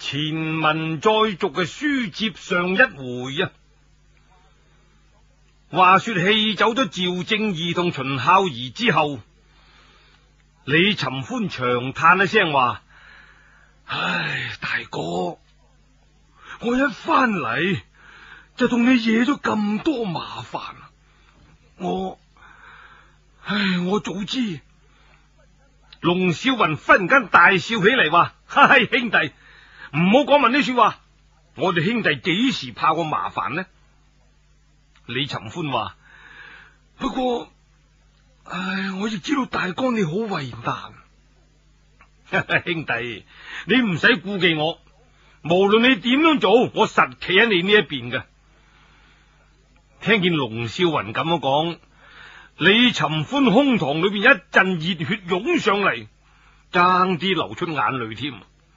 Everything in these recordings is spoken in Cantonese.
前文再續嘅書接上一回啊。話說氣走咗趙正義同秦孝儀之後，李尋歡長嘆一聲話：唉，大哥，我一翻嚟就同你惹咗咁多麻煩，我早知。龍少雲忽然間大笑起嚟，話：嗨，兄弟，唔好講問呢說話，我哋兄弟幾時怕過麻煩呢？李尋歡話：不過，我亦知道大哥你好為難。兄弟，你唔使顧忌我，無論你點樣做，我實企喺你呢一邊嘅。聽見龍少雲咁樣講，李尋歡胸膛裏邊一陣熱血湧上嚟，爭啲流出眼淚添。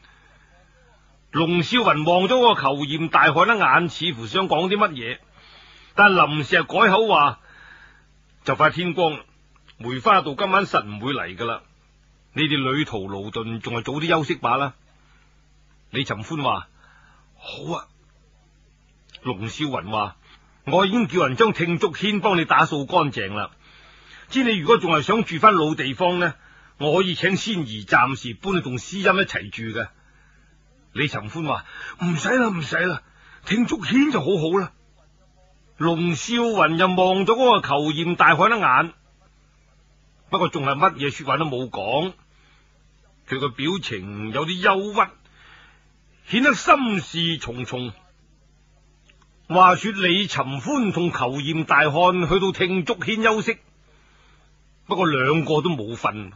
龍少雲望咗個虬髯大漢一眼，似乎想講啲乜嘢，但臨時改口話：就快天光啦，梅花道今晚實唔會嚟噶啦，你哋旅途勞頓，仲係早啲休息罷啦。李尋歡話：好啊。龍少雲話：我已經叫人將聽竹軒幫你打掃乾淨啦。知你如果仲係想住翻老地方呢，我可以請仙兒暫時搬去同詩音一齊住嘅。李尋歡話：唔使啦，唔使啦，聽竹軒就好好啦。龍少雲又望咗嗰個虬髯大漢一眼，不過仲係乜嘢說話都冇講，佢個表情有啲憂鬱，顯得心事重重。話說李尋歡同虬髯大漢去到聽竹軒休息，不過兩個都冇瞓，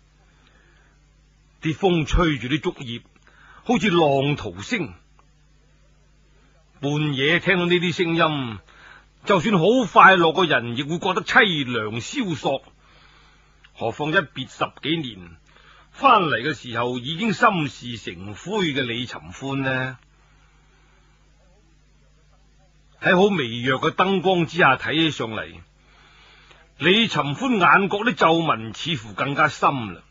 啲風吹住啲竹葉，好似浪濤聲。半夜聽到呢啲聲音，就算好快樂嘅人亦會覺得淒涼蕭索，何況一別10幾年，翻嚟嘅時候已經心事成灰嘅李尋歡呢？喺好微弱嘅燈光之下睇起上嚟，李尋歡眼角啲皺紋似乎更加深啦。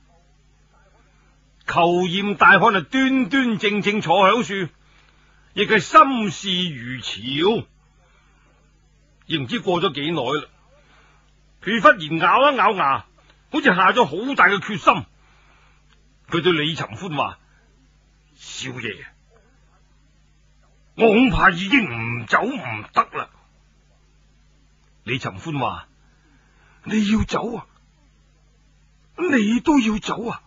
虬髯大漢啊，端端正正坐響樹，亦係心事如潮。亦唔知過咗幾耐啦，佢忽然咬一咬牙，好似下咗好大嘅決心。佢對李尋歡話：少爺，我恐怕已經唔走唔得啦。李尋歡話：你要走啊？你都要走啊？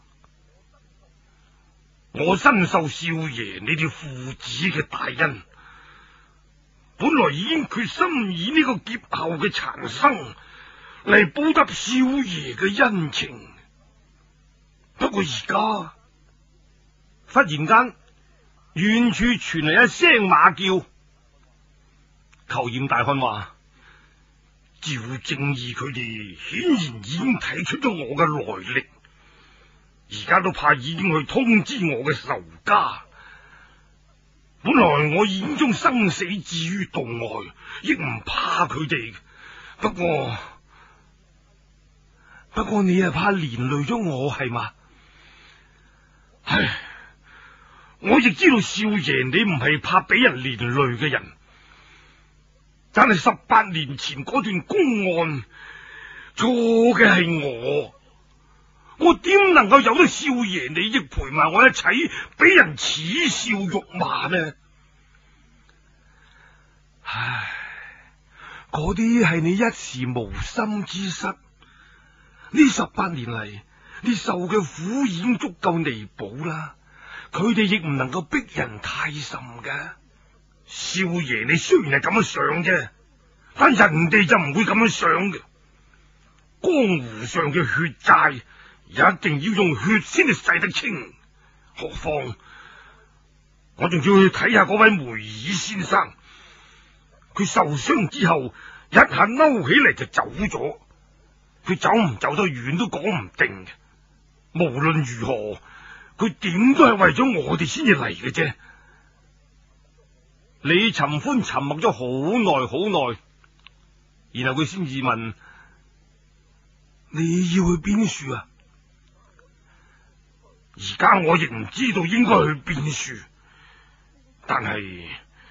我深受少爺你哋父子嘅大恩，本來已經決心以呢個劫後嘅殘生嚟報答少爺嘅恩情。不過而家忽然間，遠處傳嚟一聲馬叫。虬髯大漢話：趙正義佢哋顯然已經睇出咗我嘅來歷，而家都怕已經去通知我嘅仇家。本來我已經將生死置於度外，亦唔怕佢哋。不過你係怕連累咗我係嘛？唉，我亦知道少爺你唔係怕俾人連累嘅人，但係18年前嗰段公案錯嘅係我點能夠由得少爺你亦陪埋我一齊俾人恥笑辱罵呢？唉，嗰啲係你一時無心之失，呢18年嚟你受嘅苦已經足夠彌補啦。佢哋亦唔能夠逼人太甚嘅。少爺你雖然係咁樣想啫，但人哋就唔會咁樣想嘅。江湖上嘅血債一定要用血先至洗得清，何況我仲要去睇下嗰位梅爾先生，佢受傷之後一下嬲起嚟就走咗，佢走唔走得遠都講唔定嘅。無論如何，佢點都係為咗我哋先至嚟嘅啫。李尋歡沉默咗好耐好耐，然後佢先至問：你要去邊處啊？而家我亦唔知道應該去邊處， 但係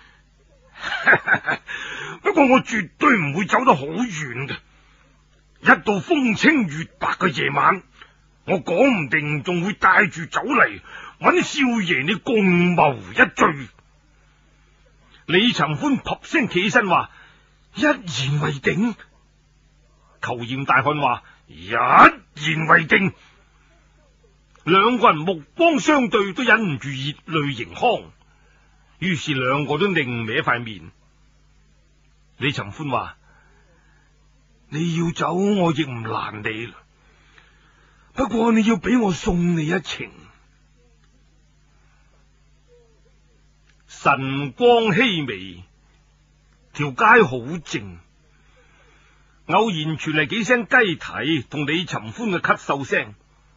不過我絕對唔會走得好遠嘅。一到風清月白嘅夜晚，我講唔定仲會帶住酒嚟揾少爺你共謀一醉。 李尋歡啪聲企起身話：一言為定。虬髯大漢話： 一言為定。 兩個人目光相對，都忍唔住熱淚盈眶，於是兩個都擰歪塊面。李尋歡話： 你要走，我亦唔攔你，不過你要俾我送你一程。 晨光熹微，條街好靜，偶然傳嚟幾聲雞啼同李尋歡嘅咳嗽聲。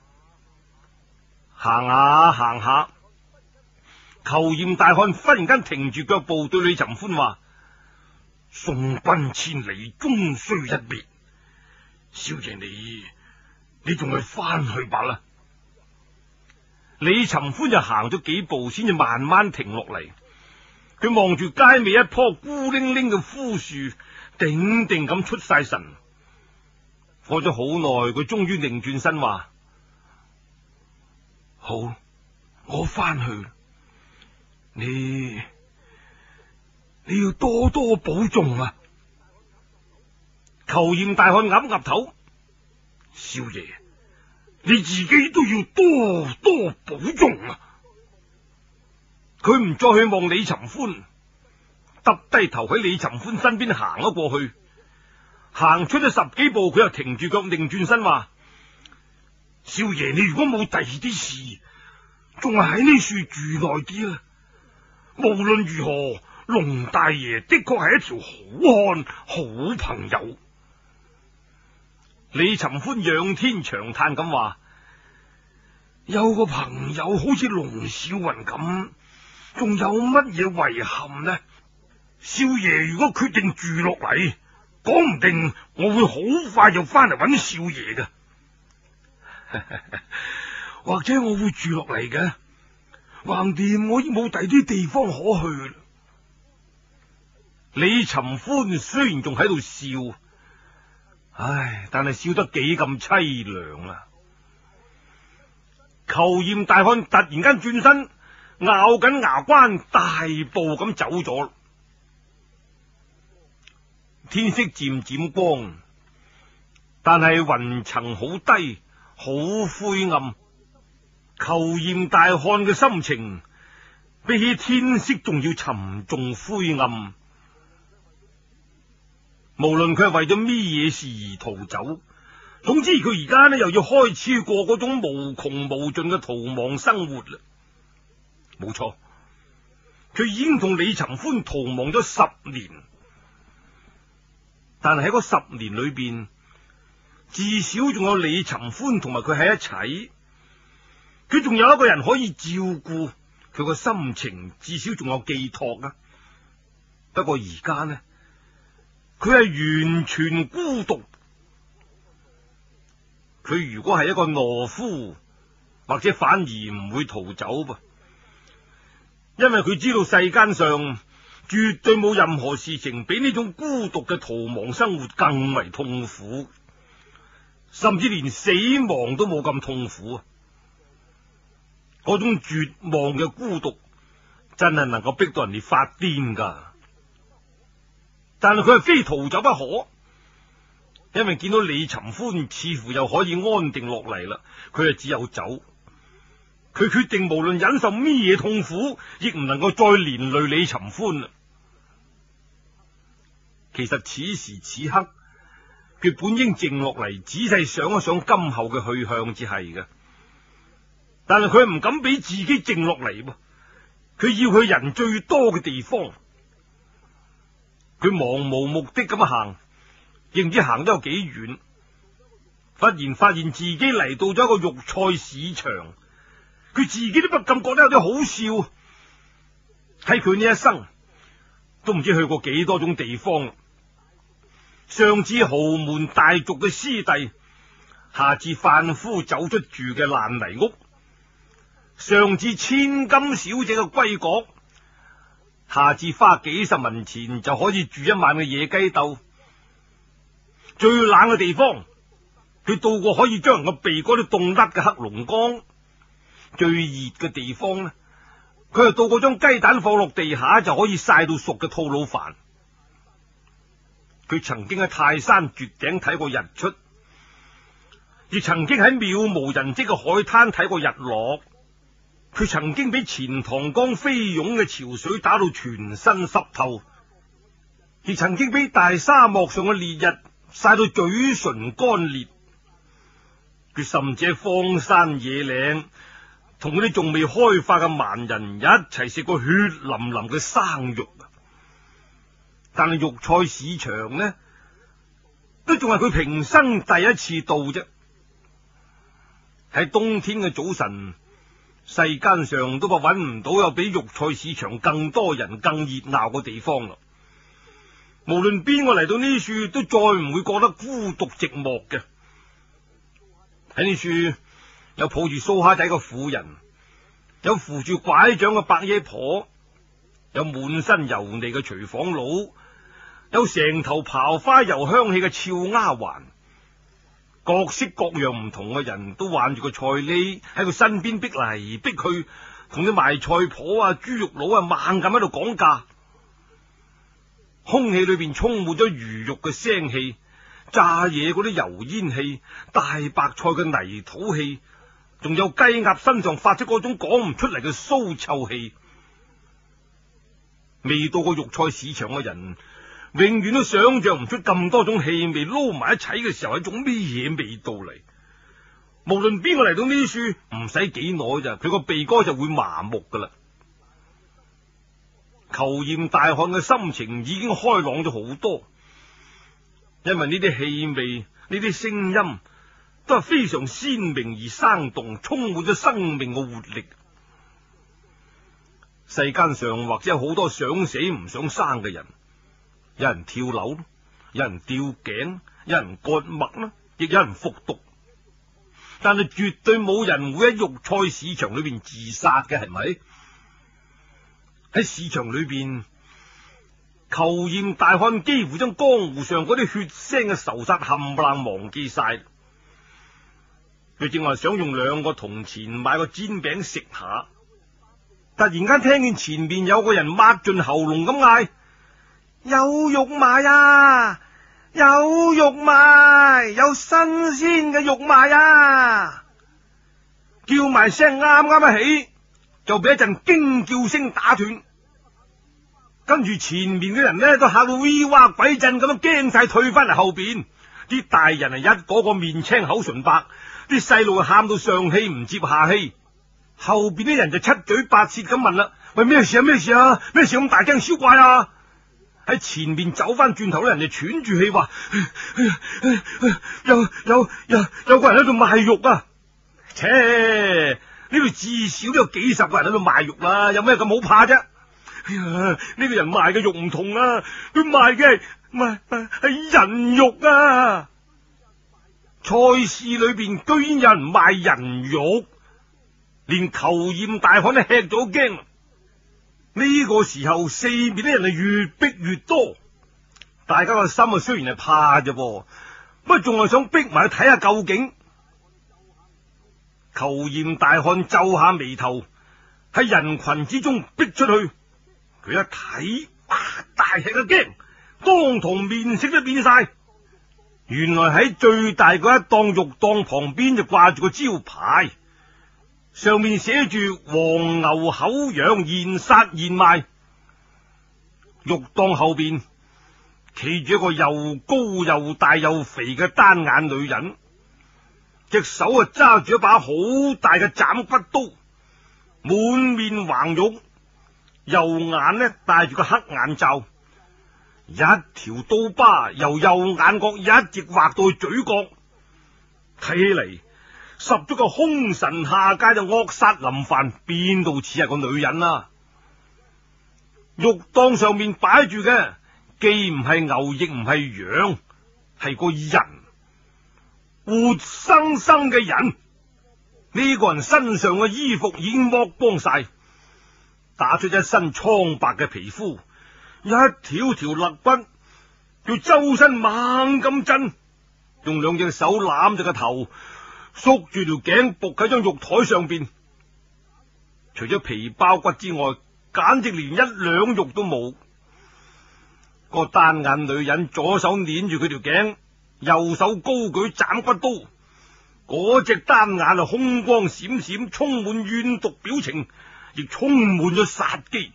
行下行下，虬髯大漢忽然間停住腳步，對李尋歡話： 送君千里，終須一別。少爺你仲係翻去吧啦。 李尋歡就行咗幾步，先至慢慢停落嚟。佢望住街尾一棵孤零零嘅枯樹，定定咁出晒神。過咗好耐，佢終於擰轉身話： 好，我翻去。你要多多保重啊！ 虬髯大漢岌岌頭： 少爺，你自己都要多多保重啊！ 佢唔再去望李尋歡，耷低頭喺李尋歡身邊行咗過去。行出咗10幾步，佢又停住腳，擰轉身話： 少爺，你如果冇第二啲事，仲係喺呢樹住耐啲啦。無論如何，龍大爺的確係一條好漢、好朋友。 李尋歡仰天長嘆咁話： 有個朋友好似龍少雲咁，仲有乜嘢遺憾呢？少爺如果決定住落嚟，講唔定我會好快就翻嚟揾少爺嘅。或者我會住落嚟嘅，橫掂我已冇第啲地方可去。 李尋歡雖然仲喺度笑，唉，但係笑得幾咁淒涼啊！虬髯大漢突然間轉身，咬緊牙關，大步咁走咗。天色漸漸光，但係雲層好低，好灰暗。虬髯大漢嘅心情比起天色仲要沉重灰暗。無論佢係為咗咩嘢事而逃走，總之佢而家呢又要開始過嗰種無窮無盡嘅逃亡生活啦。冇錯，佢已經同李尋歡逃亡咗10年，但係喺嗰10年裏邊，至少仲有李尋歡同埋佢喺一齊，佢仲有一個人可以照顧佢個心情，至少仲有寄託啊。不過而家呢，佢係完全孤獨。佢如果係一個懦夫，或者反而唔會逃走噃，因為佢知道世間上絕對冇任何事情比呢種孤獨嘅逃亡生活更為痛苦，甚至連死亡都冇咁痛苦啊！嗰種絕望嘅孤獨真係能夠逼到人哋發癲噶。但係佢係非逃走不可，因為見到李尋歡似乎又可以安定落嚟啦，佢就只有走。佢決定無論忍受咩嘢痛苦，亦唔能夠再連累李尋歡啦。其實此時此刻，佢本應靜落嚟，仔細想一想今後嘅去向至係嘅。但係佢唔敢俾自己靜落嚟噃，佢要去人最多嘅地方。佢茫無目的咁行，亦唔知行得有幾遠，忽然發現自己嚟到咗一個肉菜市場，佢自己都不禁覺得有啲好笑。睇佢呢一生都唔知去過幾多種地方，上至豪門大族嘅師弟，下至販夫走出住嘅爛泥屋，上至千金小姐嘅閨閣， 下次花幾十文錢就可以住一晚嘅野雞竇。最冷嘅地方，佢到過可以將人個鼻哥都凍甩嘅黑龍江。最熱嘅地方呢，佢係到過將雞蛋放落地下就可以曬到熟嘅吐魯番。佢曾經喺泰山絕頂睇過日出，亦曾經喺渺無人跡嘅海灘睇過日落。佢曾經俾錢塘江飛湧嘅潮水打到全身濕透，亦曾經俾大沙漠上嘅烈日曬到嘴唇乾裂。佢甚至喺荒山野嶺同嗰啲仲未開化嘅蠻人一齊食過血淋淋嘅生肉。但係肉菜市場呢，都仲係佢平生第一次到啫。喺冬天嘅早晨，世間上都怕搵唔到有比肉菜市場更多人、更熱鬧嘅地方啦。無論邊個嚟到呢處，都再唔會覺得孤獨寂寞嘅。喺呢處有抱住蘇蝦仔嘅婦人，有扶住拐杖嘅伯爺婆，有滿身油膩嘅廚房佬，有成頭刨花油香氣嘅俏丫鬟。各式各樣唔同嘅人都挽住個菜畍喺佢身邊逼嚟逼去，同啲賣菜婆啊、豬肉佬啊猛咁喺度講價。空氣裏邊充滿咗魚肉嘅腥氣，炸嘢嗰啲油煙氣，大白菜嘅泥土氣，仲有雞鴨身上發出嗰種講唔出嚟嘅騷臭氣。未到過肉菜市場嘅人，永遠都想象唔出咁多種氣味撈埋一齊嘅時候係一種咩嘢味道嚟。無論邊個嚟到呢處，唔使幾耐咋，佢個鼻哥就會麻木噶啦。虬髯大漢嘅心情已經開朗咗好多，因為呢啲氣味、呢啲聲音都係非常鮮明而生動，充滿咗生命嘅活力。世間上或者有好多想死唔想生嘅人，有人跳樓，有人吊頸，有人割脈啦，亦有人服毒，但係絕對冇人會喺肉菜市場裏邊自殺嘅，係咪？喺市場裏邊，虬髯大漢幾乎將江湖上嗰啲血腥嘅仇殺冚唪唥忘記晒。佢正話想用2個銅錢買個煎餅食下，突然間聽見前面有個人擘盡喉嚨咁嗌：有肉賣啊！有肉賣，有新鮮嘅肉賣啊！叫埋聲啱啱一起，就俾一陣驚叫聲打斷，跟住前面嘅人呢都嚇到 V 哇鬼震咁樣驚晒，退翻嚟後邊。啲大人係一個個面青口唇白，啲細路喊到上氣唔接下氣，後邊啲人就七嘴八舌咁問啦：喂，咩事啊？咩事啊？咩事咁大驚小怪啊？喺前面走翻轉頭咧，人哋喘住氣話：有個人喺度賣肉啊！切，呢度至少都有幾十個人喺度賣肉啦，有咩咁好怕啫？哎呀，呢個人賣嘅肉唔同啊，佢賣嘅係人肉啊！菜市裏邊居然有人賣人肉，連虬髯大漢都吃咗驚。呢個時候，四面啲人係越逼越多，大家個心啊雖然係怕啫，不過仲係想逼埋去睇下究竟。虬髯大漢皺下眉頭，喺人群之中逼出去。佢一睇，哇！大吃個驚，當堂面色都變晒。原來喺最大嗰一檔肉檔旁邊就掛住個招牌，上面寫住黃牛口羊現殺現賣。肉檔後邊企住一個又高又大又肥嘅單眼女人，隻手啊揸住一把好大嘅斬骨刀，滿面橫肉，右眼呢戴住個黑眼罩，一條刀疤由右眼角一直劃到去嘴角，睇起嚟十足個凶神下界就惡殺林犯，邊度似係個女人啊？肉檔上面擺住嘅既唔係牛亦唔係羊，係個人，活生生嘅人。呢個人身上嘅衣服已經剝光晒， 打出一身蒼白嘅皮膚，一條條肋骨，叫周身猛咁震，用兩隻手攬住個頭，縮住條頸，伏喺張玉台上邊。除咗皮包骨之外，簡直連一兩肉都冇。個單眼女人左手捏住佢條頸，右手高舉斬骨刀，嗰隻單眼啊，凶光閃閃，充滿怨毒表情，亦充滿咗殺機。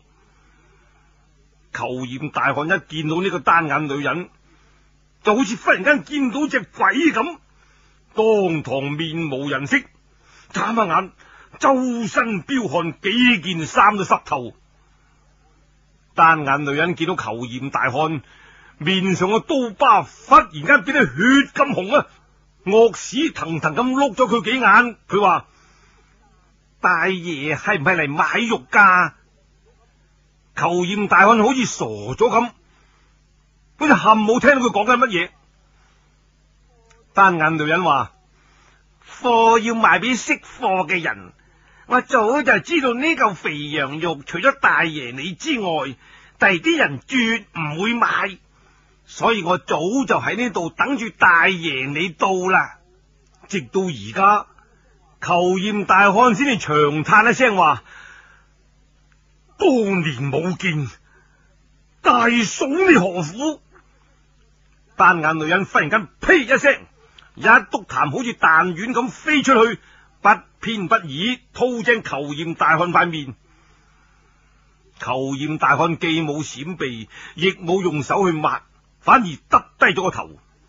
虬髯大漢一見到呢個單眼女人，就好似忽然間見到隻鬼咁，當堂面無人色，眨下眼，周身飆汗，幾件衫都濕透。單眼女人見到虬髯大漢面上嘅刀疤忽然間變得血咁紅啊，惡屎騰騰咁碌咗佢幾眼。佢話：大爺係唔係嚟買肉噶？虬髯大漢好似傻咗咁，好似冚冇聽到佢講緊乜嘢。單眼女人話：貨要賣俾識貨嘅人，我早就知道呢嚿肥羊肉除咗大爺你之外，第啲人絕唔會買，所以我早就喺呢度等住大爺你到啦。直到而家，虬髯大漢先至長嘆一聲話：多年冇見，大嫂你何苦？單眼女人忽然間呸一聲，一督痰好似彈丸咁飛出去，不偏不倚吐正虬髯大漢塊面。虬髯大漢既冇閃避，亦冇用手去抹，反而耷低咗個頭。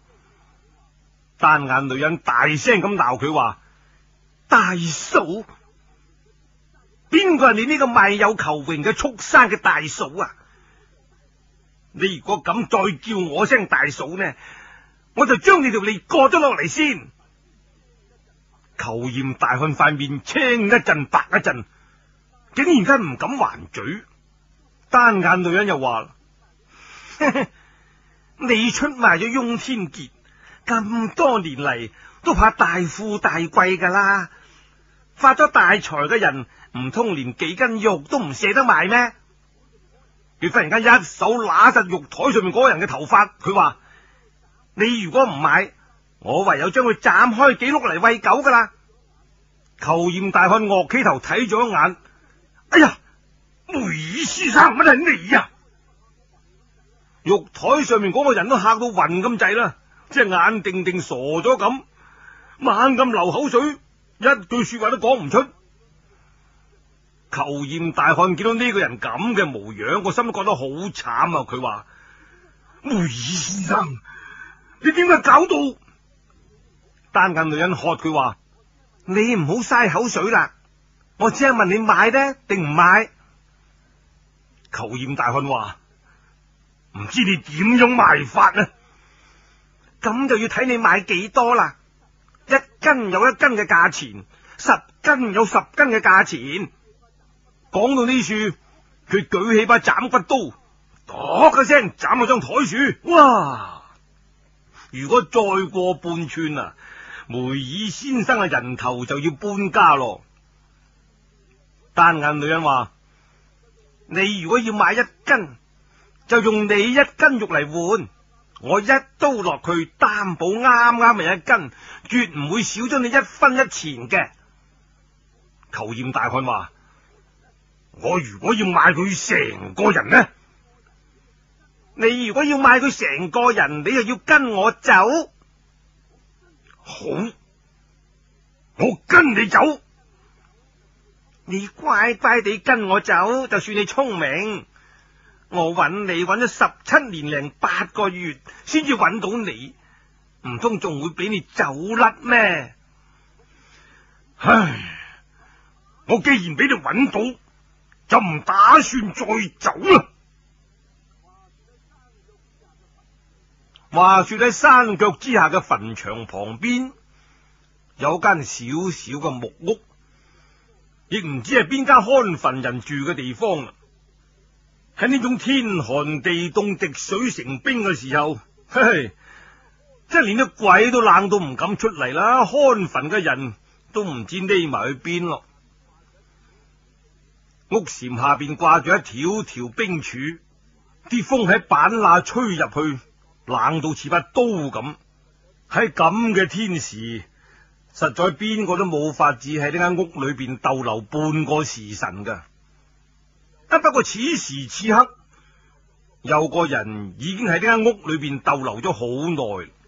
單眼女人大聲咁鬧佢話：大嫂，邊個係你呢個賣有求榮嘅畜生嘅大嫂啊？你如果敢再叫我聲大嫂呢，我就將你條脷割咗落嚟先。虬髯大漢塊面青一陣白一陣，竟然間唔敢還嘴。單眼女人又話：你出賣咗翁天傑咁多年嚟，都怕大富大貴噶啦，發咗大財嘅人唔通連幾斤肉都唔捨得賣咩？佢忽然間一手揦實玉台上面嗰個人嘅頭髮，佢話：你如果唔買，我唯有將佢斬開幾碌嚟餵狗噶啦。虬髯大漢岳起頭睇咗一眼，哎呀，梅爾先生，乜係你呀？玉台上面嗰個人都嚇到暈咁滯啦，即係眼定定傻咗咁，猛咁流口水，一句說話都講唔出。虬髯大漢見到呢個人咁嘅模樣，個心都覺得好慘啊！佢話：梅爾先生，你點解搞到？單眼女人喝佢話：你唔好嘥口水啦，我只係問你買呢定唔買？虬髯大漢話：唔知你點樣賣法呢？咁就要睇你買幾多啦。一斤有一斤嘅價錢，10斤有10斤嘅價錢。講到呢處，佢舉起把斬骨刀，咚一聲斬落張台樹。哇！如果再過半寸啊，梅爾先生嘅人頭就要搬家咯。單眼女人話：你如果要買1斤，就用你1斤肉嚟換，我一刀落去，擔保啱啱係1斤，絕唔會少咗你1分1錢嘅。虬髯大漢話：我如果要買佢成個人呢？你如果要買佢成個人，你就要跟我走。好，我跟你走。你乖乖地跟我走，就算你聰明。我揾你揾咗17年零8個月，先至揾到你，唔通仲會俾你走甩咩？唉，我既然俾你揾到，就唔打算再走啦。話說喺山腳之下嘅墳場旁邊，有間小小嘅木屋，亦唔知係邊間看墳人住嘅地方。喺呢種天寒地凍、滴水成冰嘅時候，嘿嘿，即係連啲鬼都冷到唔敢出嚟啦，看墳嘅人都唔知匿埋去邊咯。 屋檐下邊掛住一條條冰柱，啲風喺板罅吹入去，冷到似把刀咁。喺咁嘅天時，實在邊個都冇法子喺呢間屋裏邊逗留半個時辰噶。不過此時此刻，有個人已經喺呢間屋裏邊逗留咗好耐。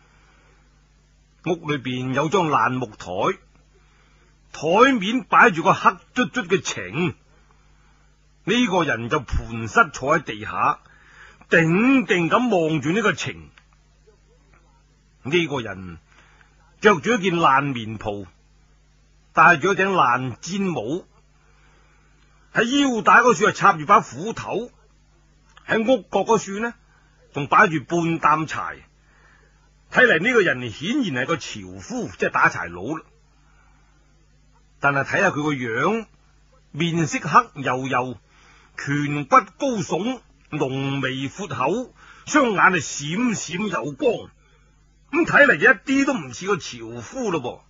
屋裏邊有張爛木台，台面擺住個黑卒卒嘅埕。呢個人就盤膝坐喺地下，定定咁望住呢個埕。呢個人着住一件爛棉袍，戴住一頂爛氈帽，喺腰帶嗰處插住把斧頭，喺屋角嗰處呢仲擺住半擔柴。睇嚟呢個人顯然係個樵夫，即係打柴佬啦。但係睇下佢個樣，面色黑黝黝，顴骨高聳，濃眉闊口，雙眼係閃閃有光。咁睇嚟一啲都唔似個樵夫咯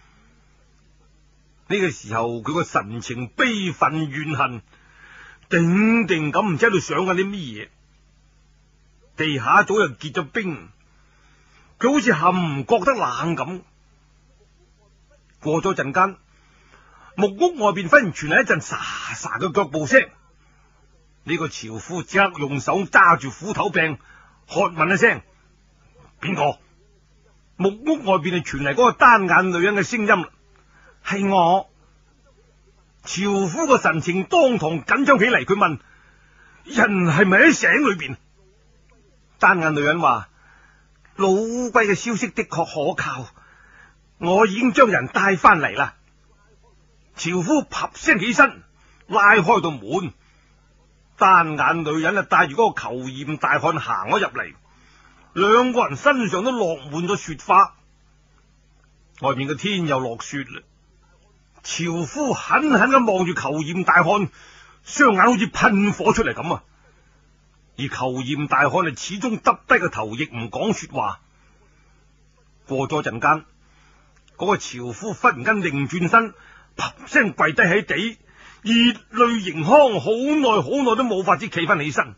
噃。呢個時候佢個神情悲憤怨恨，定定咁唔知喺度想緊啲乜嘢。地下早就結咗冰，佢好似冚唔覺得冷咁。過咗陣間，木屋外邊忽然傳嚟一陣沙沙嘅腳步聲。呢個樵夫即刻用手揸住斧頭柄，喝問一聲：邊個？木屋外邊係傳嚟嗰個單眼女人嘅聲音。係我。樵夫個神情當堂緊張起嚟，佢問：人係咪喺井裏邊？單眼女人話：老烏龜嘅消息的確可靠，我已經將人帶翻嚟啦。樵夫啪聲起身，拉開道門，單眼女人帶住嗰個虬髯大漢行咗入嚟。兩個人身上都落滿咗雪花，外面嘅天又落雪啦。樵夫狠狠咁望住虬髯大漢，雙眼好似噴火出嚟咁啊！而虬髯大漢始終耷低個頭，亦唔講說話。過咗陣間，嗰個樵夫忽然間擰轉身，啪聲跪低喺地，熱淚盈眶，好耐都冇法子企翻起身。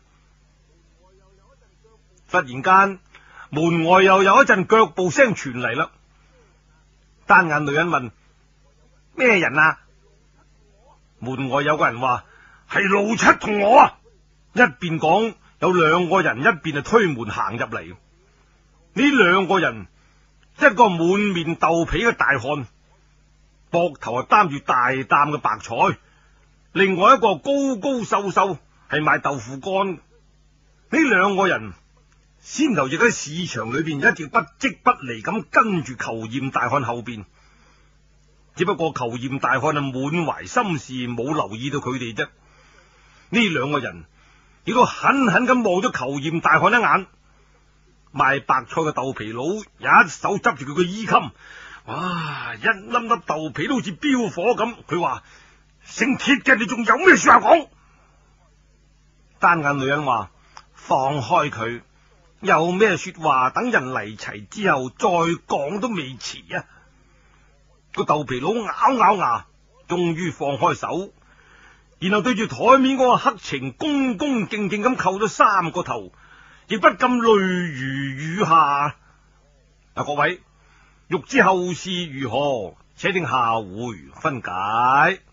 忽然間，門外又有一陣腳步聲傳嚟啦。單眼女人問：咩人啊？門外有個人話：係老七同我啊！一邊講，有兩個人一邊推門行入嚟。呢兩個人，一個滿面豆皮嘅大漢，膊頭擔住大擔嘅白菜；另外一個高高瘦瘦，係賣豆腐乾。呢兩個人先頭亦喺市場裏邊一直不即不離咁跟住虬髯大漢後邊，只不過虬髯大漢滿懷心事，冇留意到佢哋啫。呢兩個人亦都狠狠咁望咗虬髯大漢一眼。賣白菜嘅豆皮佬一手執住佢個衣襟，哇！一粒粒豆皮都好似飆火咁。佢話：姓鐵嘅，你仲有咩說話講？單眼女人話：放開佢，有咩說話等人嚟齊之後再講都未遲啊！個豆皮佬咬牙，終於放開手，然後對住台面嗰個黑埕恭恭敬敬咁叩咗3個頭，亦不禁淚如雨下。各位欲知後事如何，且聽下回分解。